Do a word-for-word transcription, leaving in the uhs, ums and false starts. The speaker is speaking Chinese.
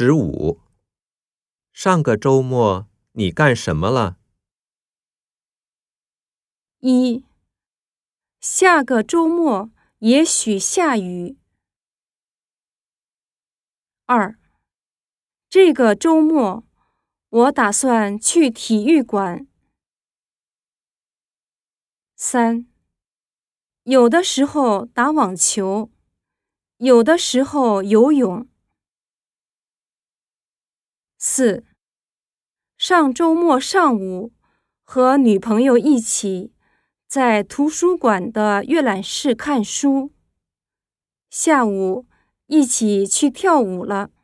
十五，上个周末你干什么了？ 一，下个周末也许下雨。二，这个周末我打算去体育馆。三，有的时候打网球，有的时候游泳。四，上周末上午和女朋友一起在图书馆的阅览室看书，下午一起去跳舞了。